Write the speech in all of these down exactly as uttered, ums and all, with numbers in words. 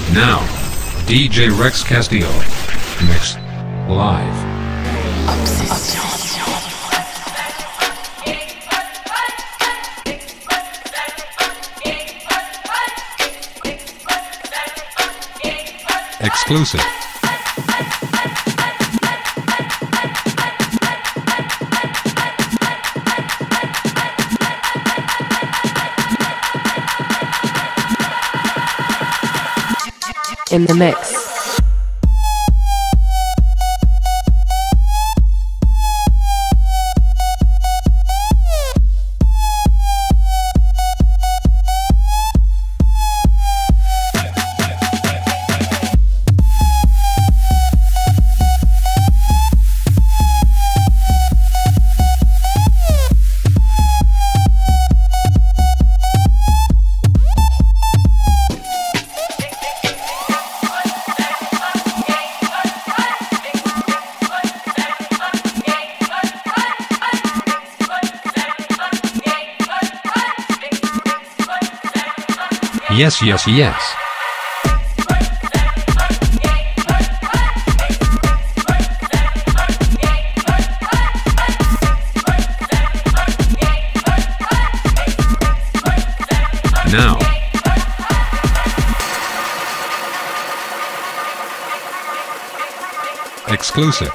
Now, D J Rex Castillo. Mix. Live. Exclusive. In the mix. Yes, yes, yes. Now. Exclusive.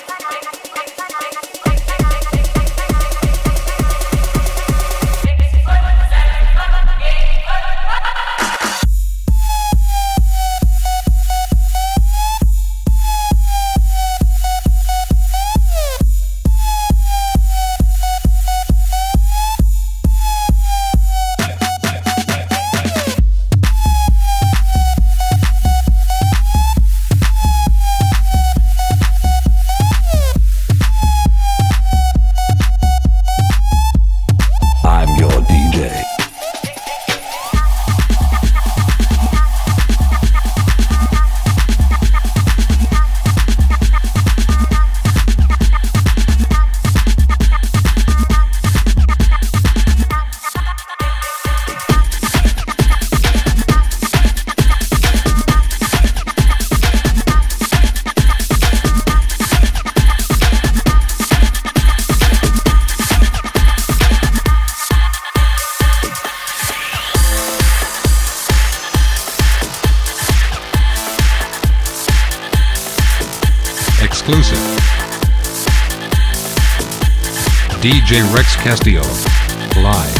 Exclusive. D J Rex Castillo. Live.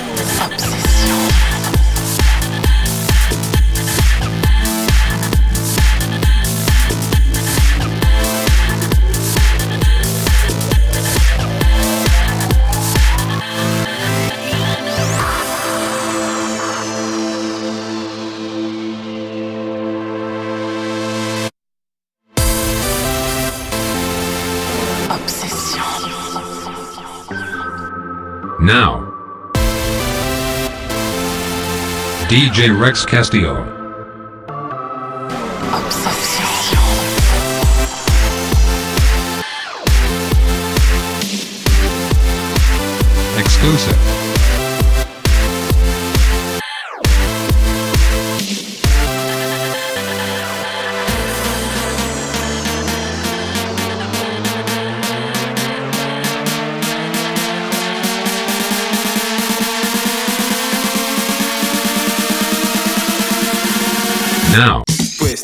Now, D J Rex Castillo. Exclusive. Now. Pues.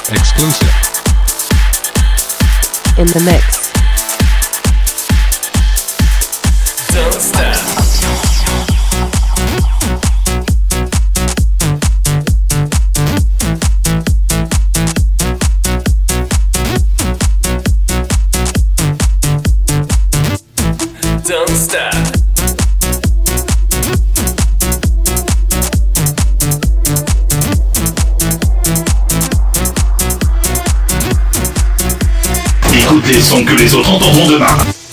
Exclusive. In the mix. Don't stop. Don't stop. Écoute les sons que les autres entendront demain.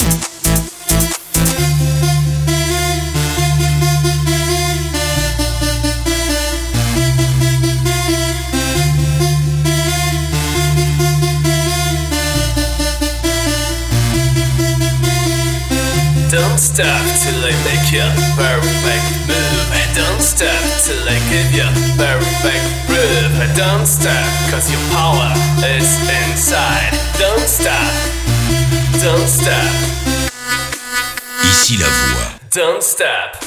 Don't stop till I make your perfect move. Don't stop till I give you perfect groove. Don't stop cause your power is inside. Don't stop. Don't stop. Ici la voix. Don't stop.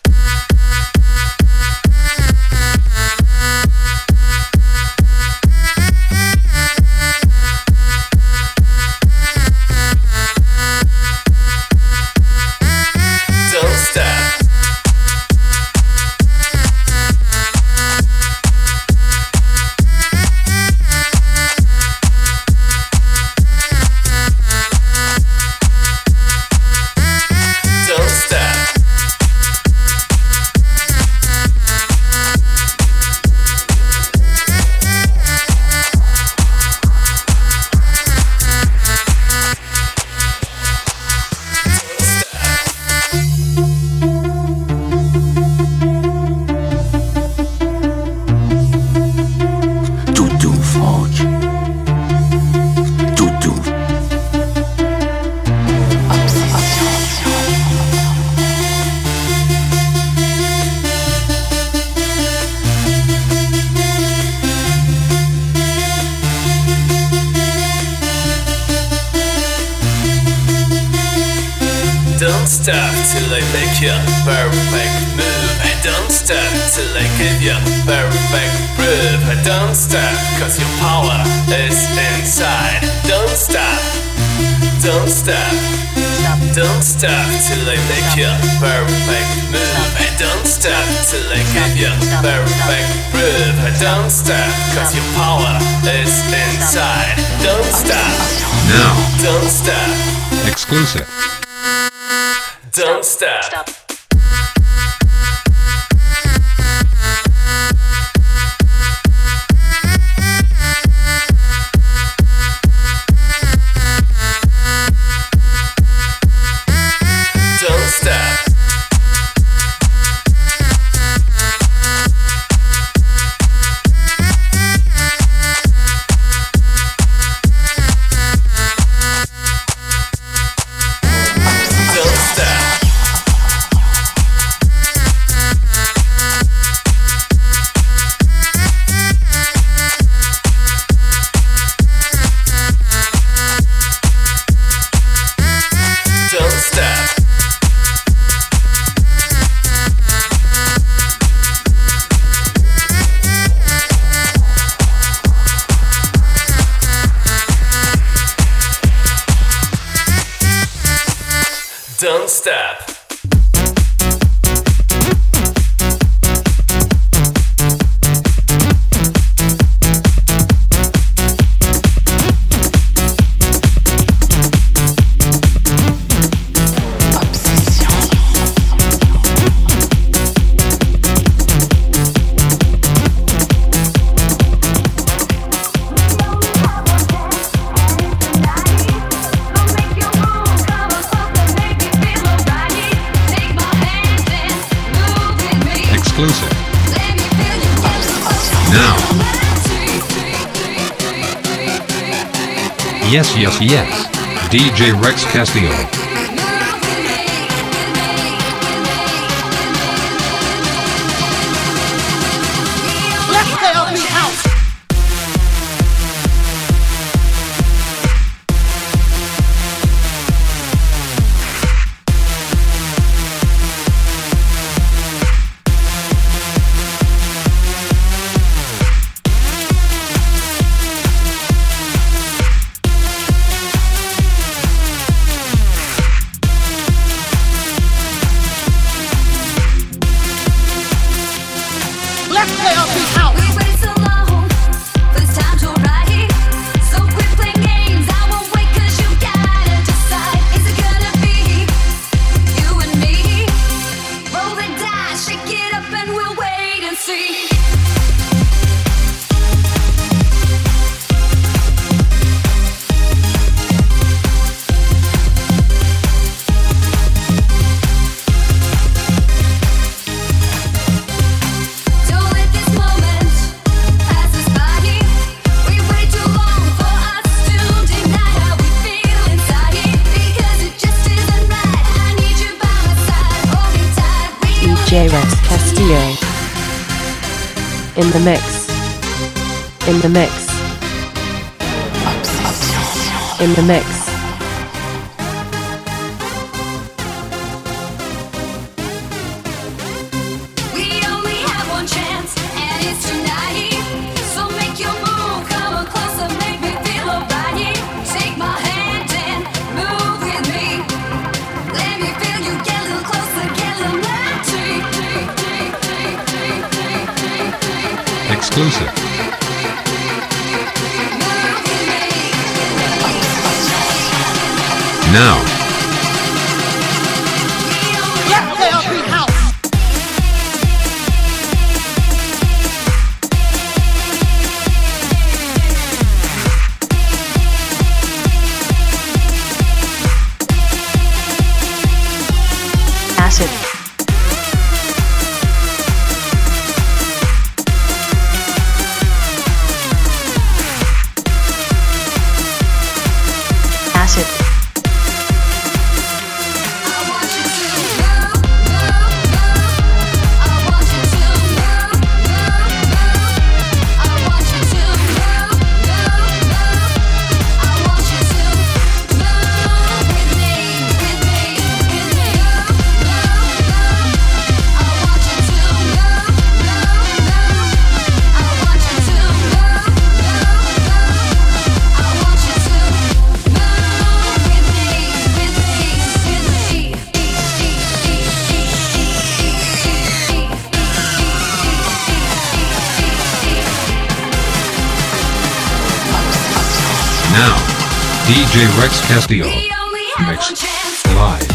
Don't stop. Don't stop. Tout doux, Franck. Tout doux. Don't stop till I make your perfect move. Don't stop till I give you perfect groove. Don't stop cause your power is inside. Don't stop. Don't stop. Don't stop till I make your perfect move. Don't stop till I give you perfect groove. Don't stop cause your power is inside. Don't stop. Now, Don't stop. exclusive. Don't stop. Don't stop. Don't stop. Don't stop. Don't stop. Exclusive. Now. Yes, yes, yes. D J Rex Castillo. J Rex Castillo. In the mix. In the mix. In the mix. Exclusive. Now. Acid. Acid. Now, D J Rex Castillo. Mix live.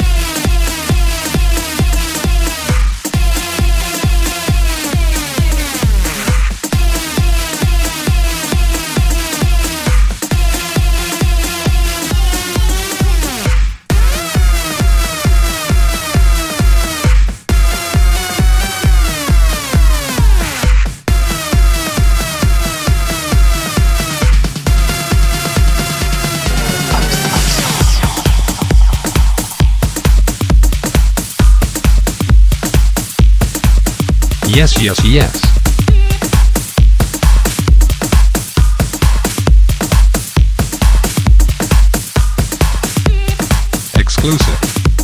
Yes, yes, yes. Exclusive.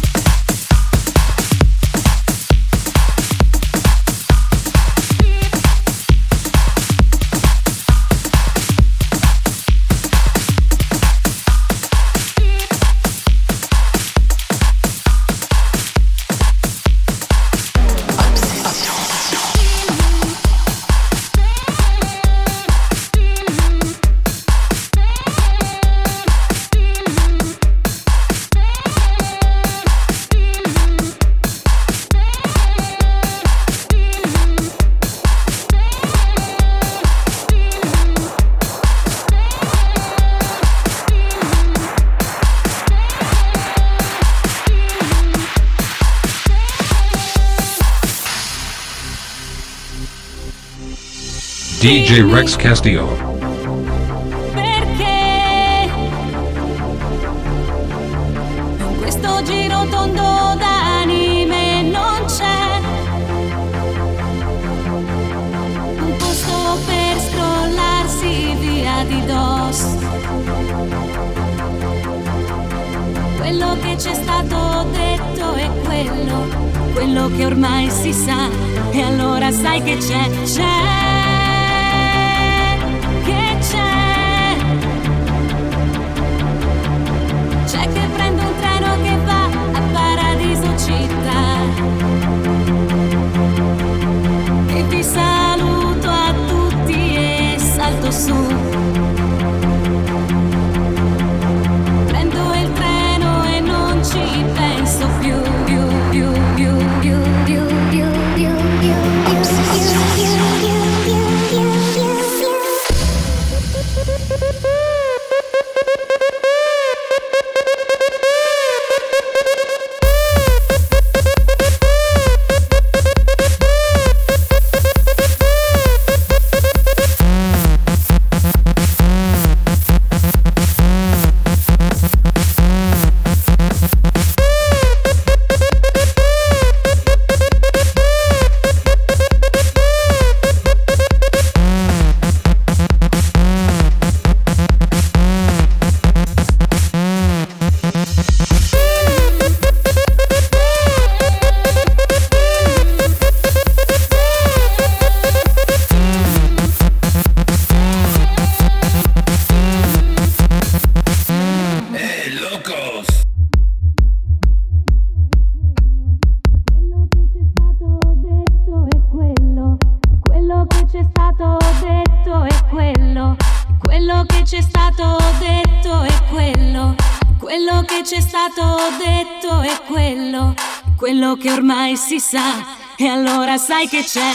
D J Rex Castillo. Perché in questo giro tondo d'anime non c'è un posto per scrollarsi via di dosso. Quello che c'è stato detto è quello, quello che ormai si sa, e allora sai che c'è, c'è. C'è che prendo un treno che va a Paradiso città e vi saluto a tutti e salto su. Prendo il treno e non ci penso più, più, più, più, più, più, più, più, più, più, più, più, più. stato detto è quello, quello che c'è stato detto è quello, quello che ormai si sa, e allora sai che c'è.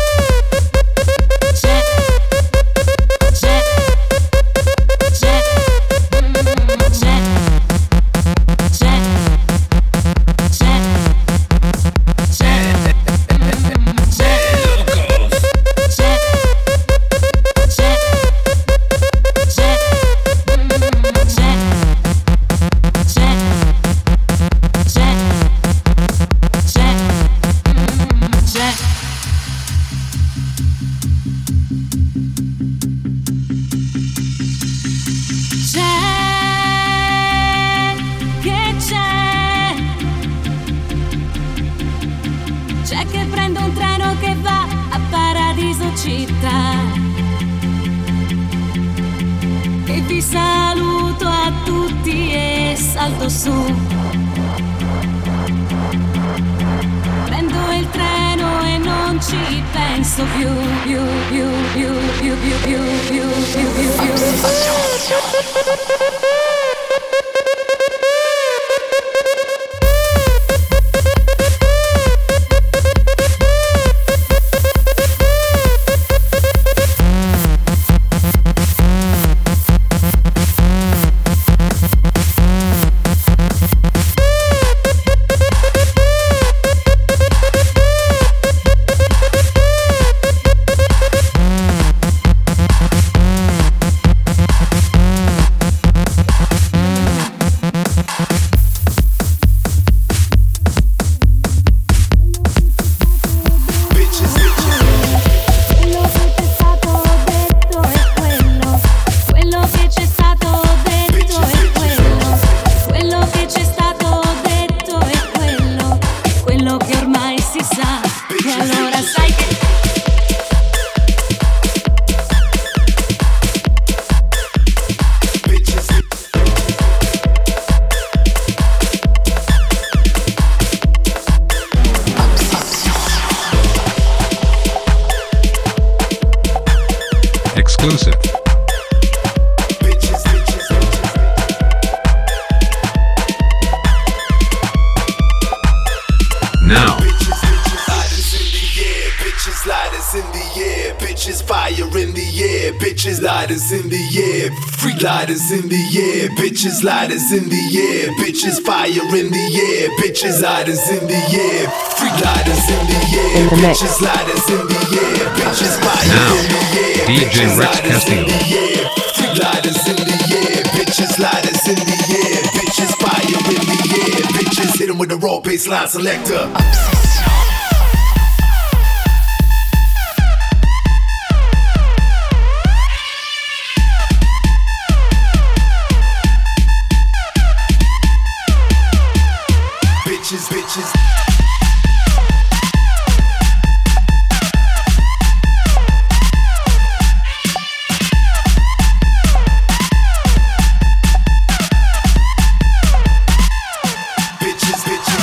C'è, c'è, c'è, c'è, c'è, c'è, c'è. C'è che prendo un treno che va a Paradiso Città, e vi saluto a tutti e salto su. Prendo il treno e non ci penso più, più, più, più, più, più, più, più, più, più, più. Exclusive. Now. Bitches, lighters in the air, bitches, fire in the air, bitches, lighters in the air, freak lighters in the air, bitches, lighters in the air, bitches, fire in the air, bitches, lighters in the air, freak lighters in the air, bitches, lighters in the air, bitches, fire in the air, D J Rex Castillo. Freak lighters in the air, bitches, lighters in the air, bitches, fire in the air, bitches, hit 'em with the raw baseline selector. Bitches, bitches. Bitches, bitches.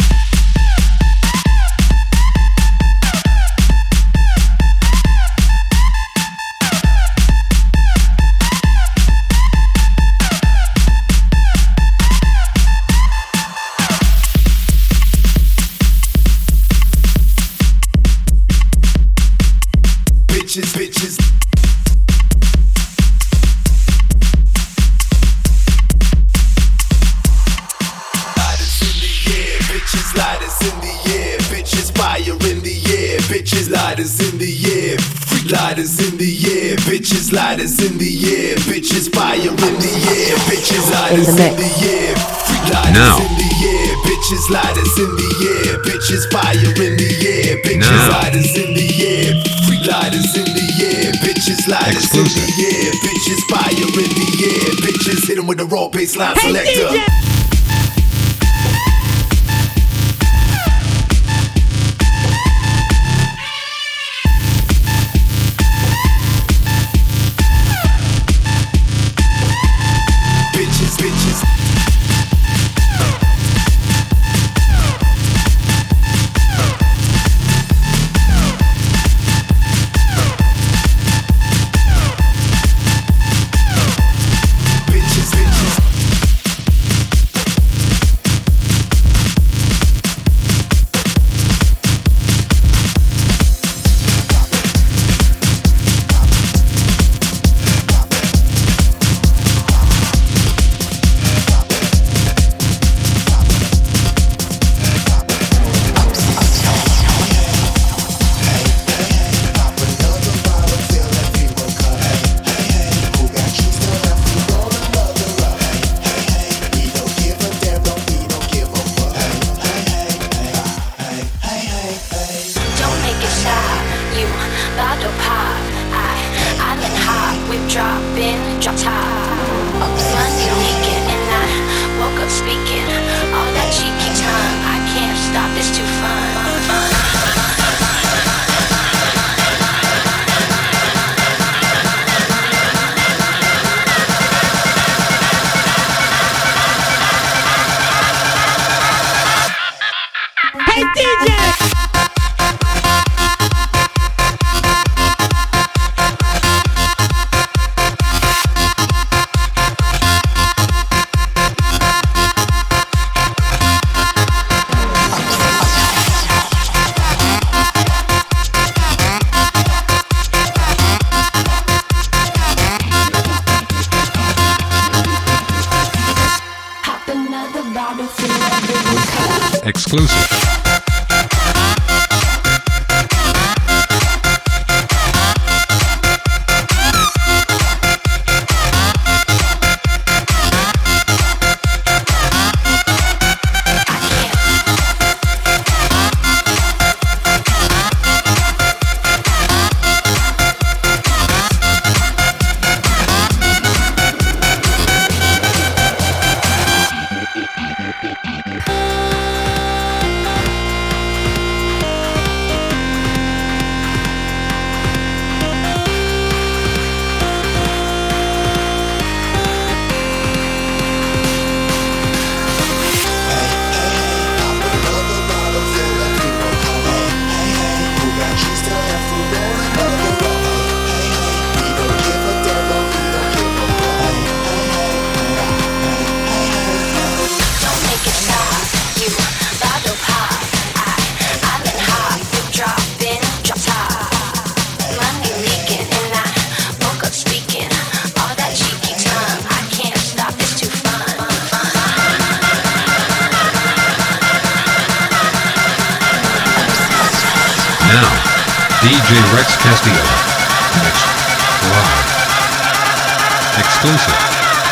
Bitches, bitches. Lighters in the air, bitches, lighters in the air, bitches, fire in the air, bitches, lighters in the air, freak lighters in the air, bitches, lighters in the air, bitches, fire in the air, bitches, lighters in the air, freak lighters in the air, bitches, lighters in the air, bitches, fire in the air, bitches, lighters in the air, freak lighters in the air, bitches, lighters Exclusive. in the air, bitches, fire in the air, bitches, hit 'em with the raw baseline selector. Bitches, bitches. Exclusive. Now, D J Rex Castillo. Mixed live. Exclusive.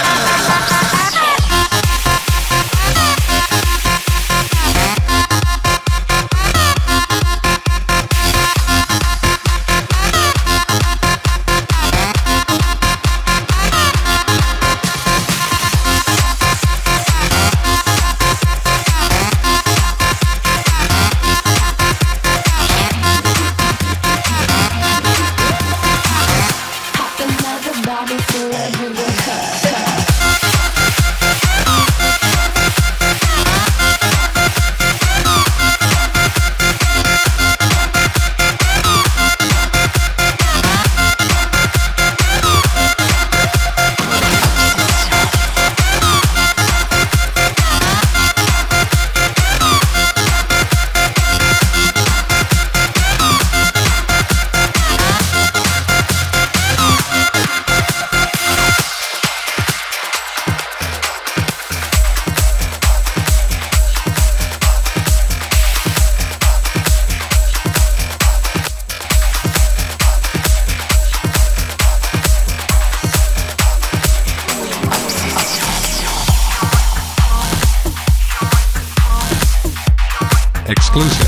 Exclusive.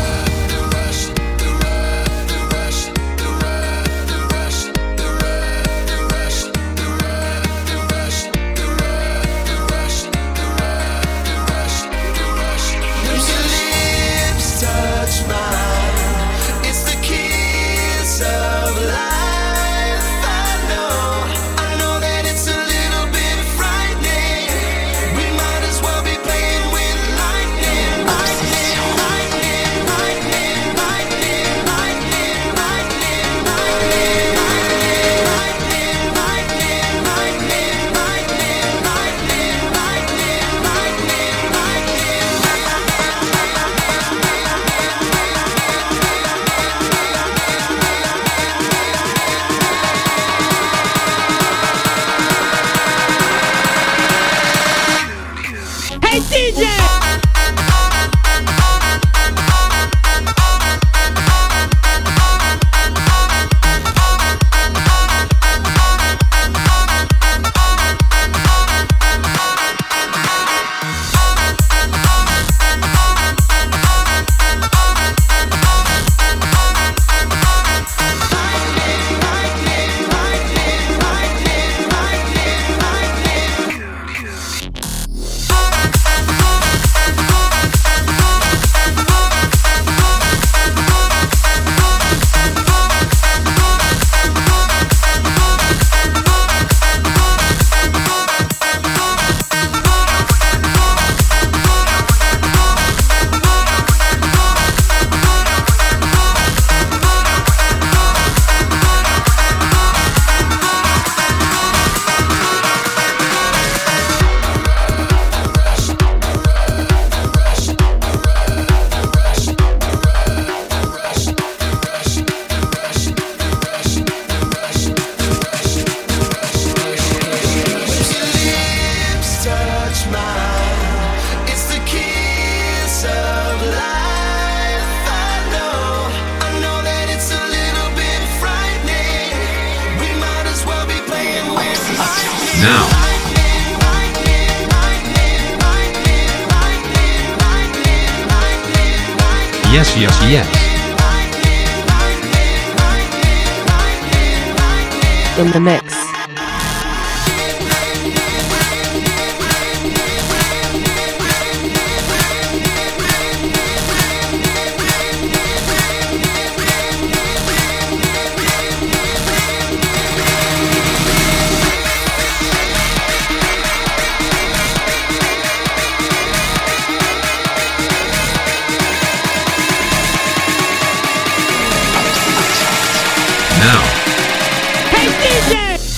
The rush, the rush, the rush, the rush, the rush. Now. Yes, yes, yes. In the mix. Now. Hey D J!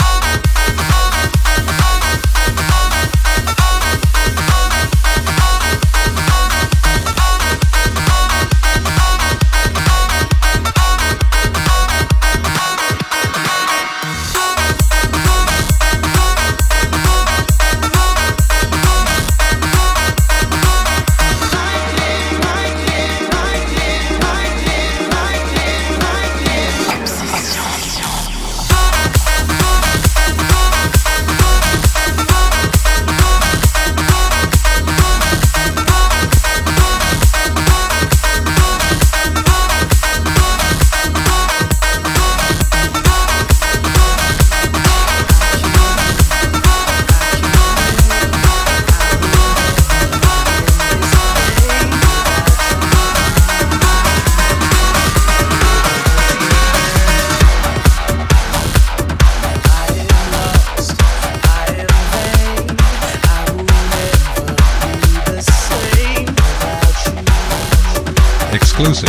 Exclusive.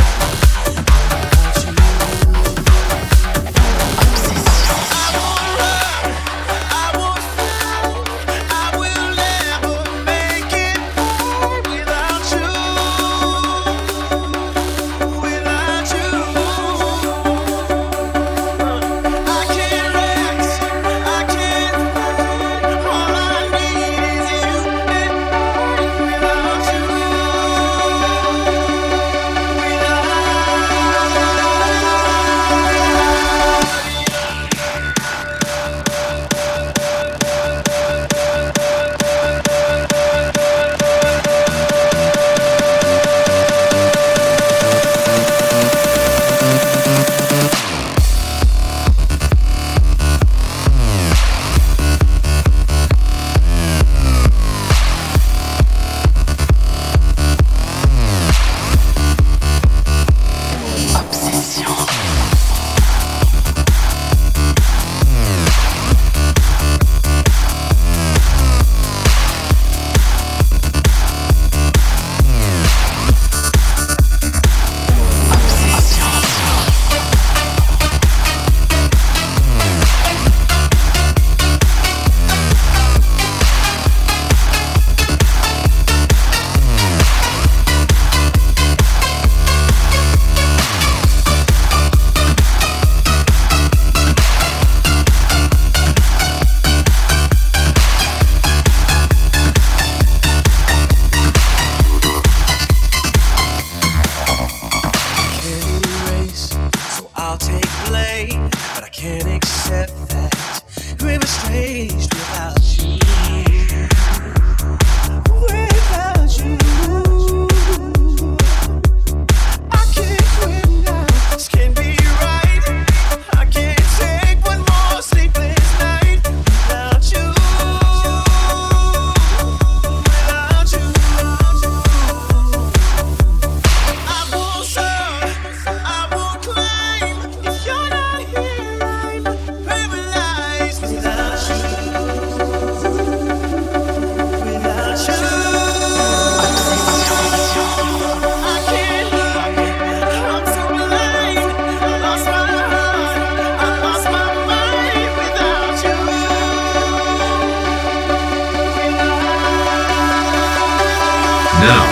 Now.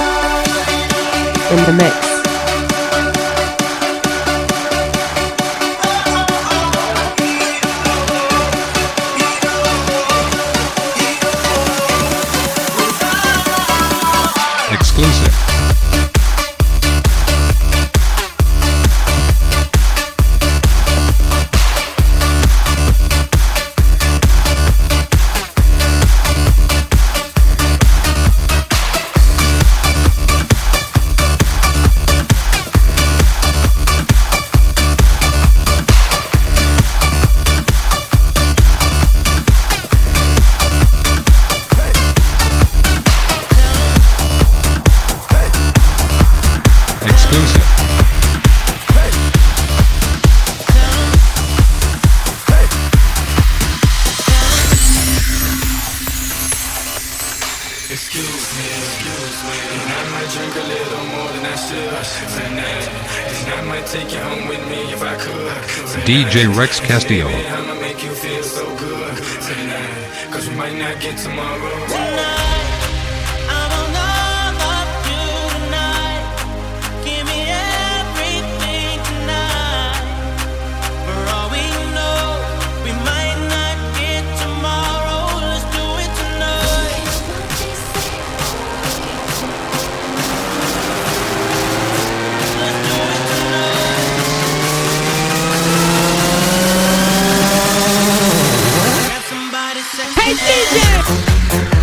In the mix. Exclusive. D J Rex Castillo. I'ma make you feel so good tonight, cause we might not get tomorrow. Tonight. Hey D J!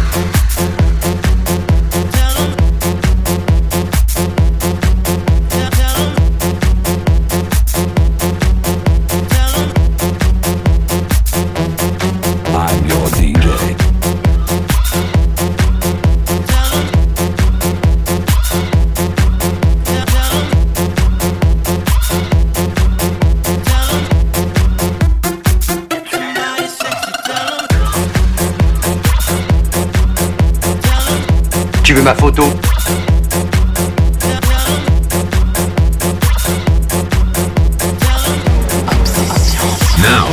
Tu veux ma photo? Now.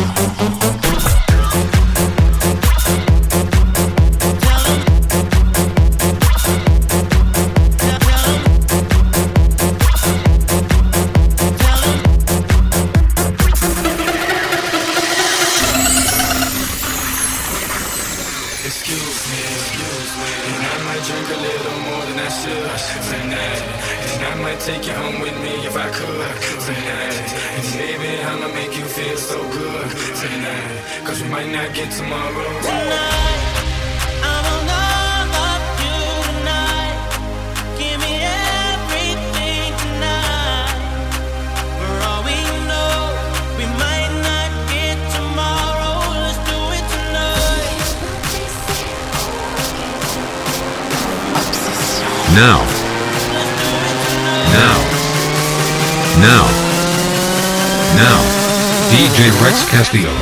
Now. Now. Now. Now. D J Rex Castillo.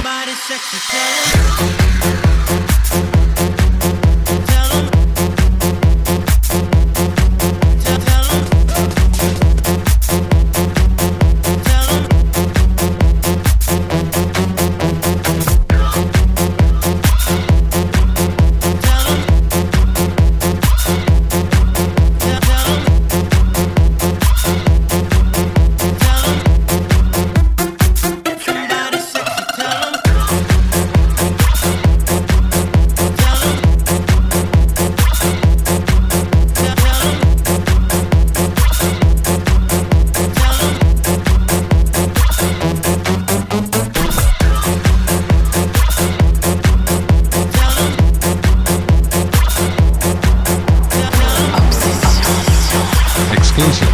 Exclusive.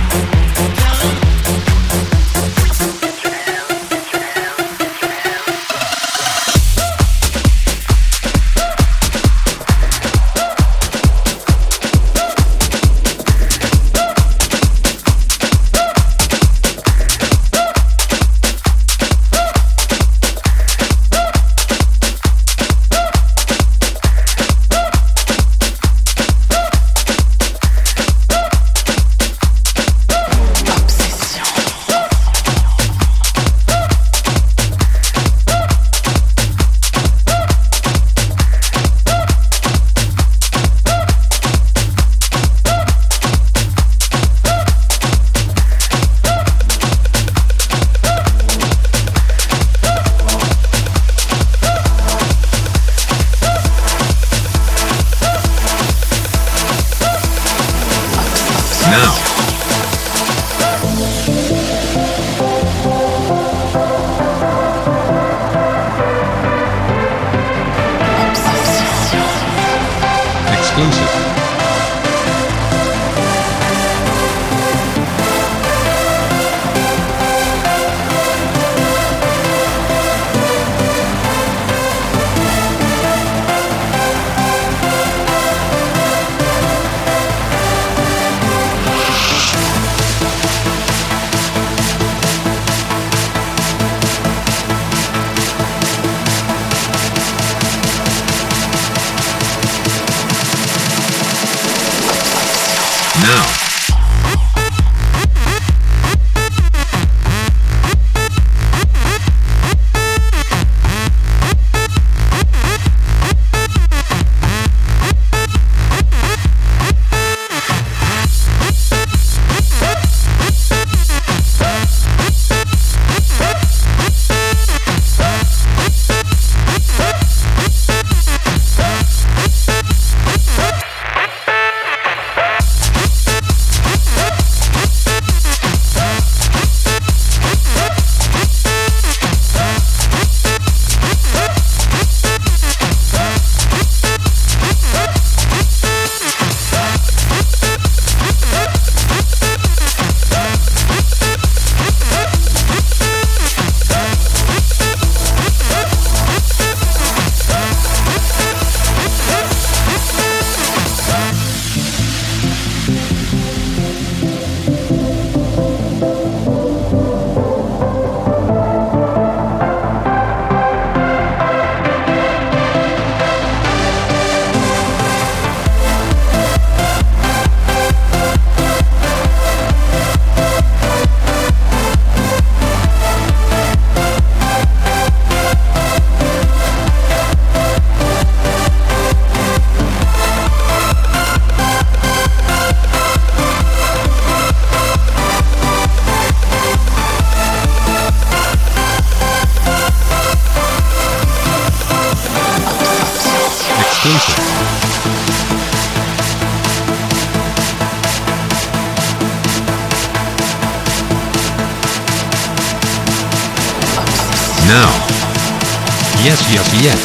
Now. Yes, yes, yes.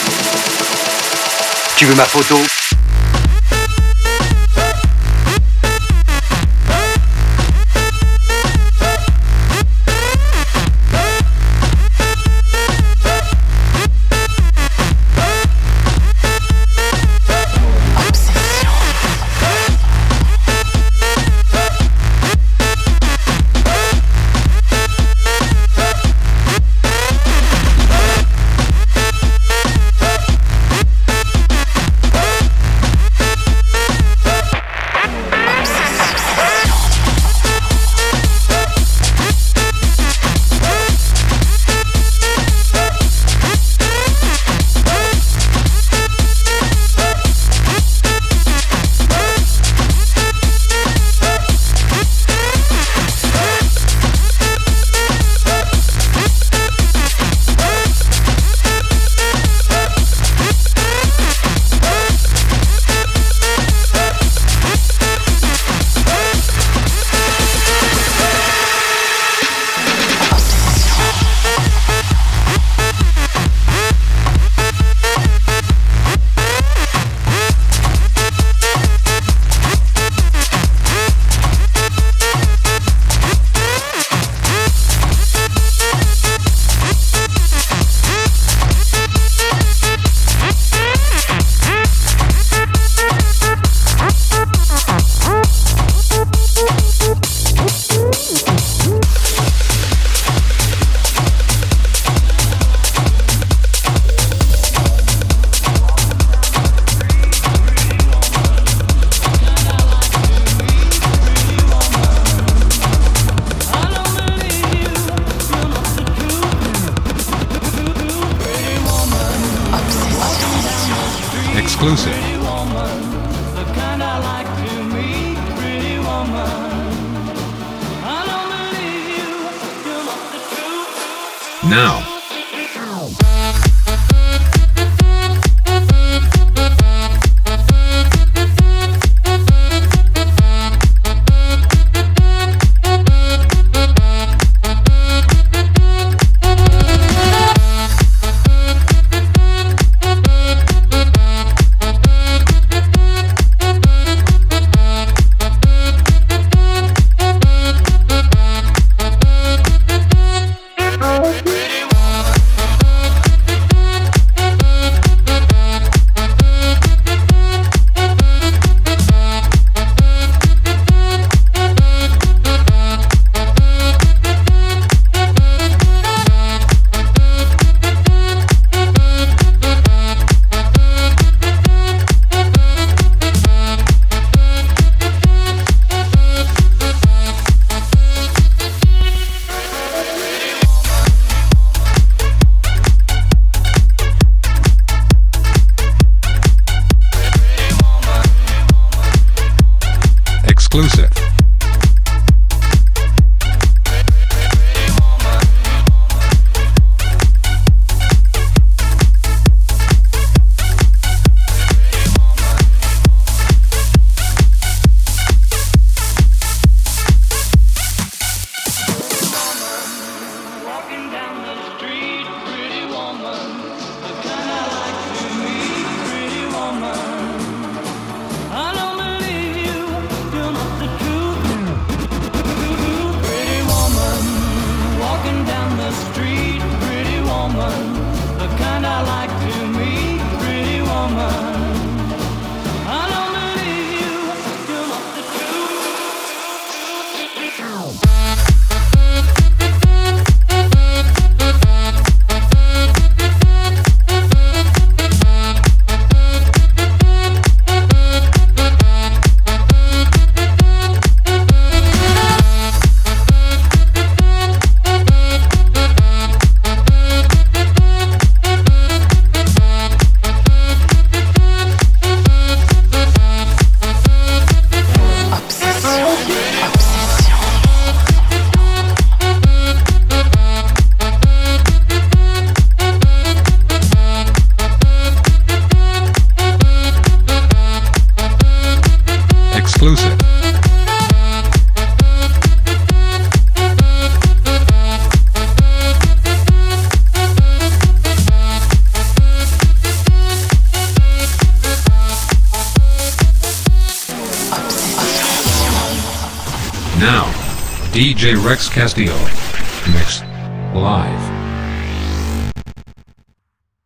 Tu veux ma photo? Exclusive. Now. Exclusive. Now, D J Rex Castillo. Mixed live.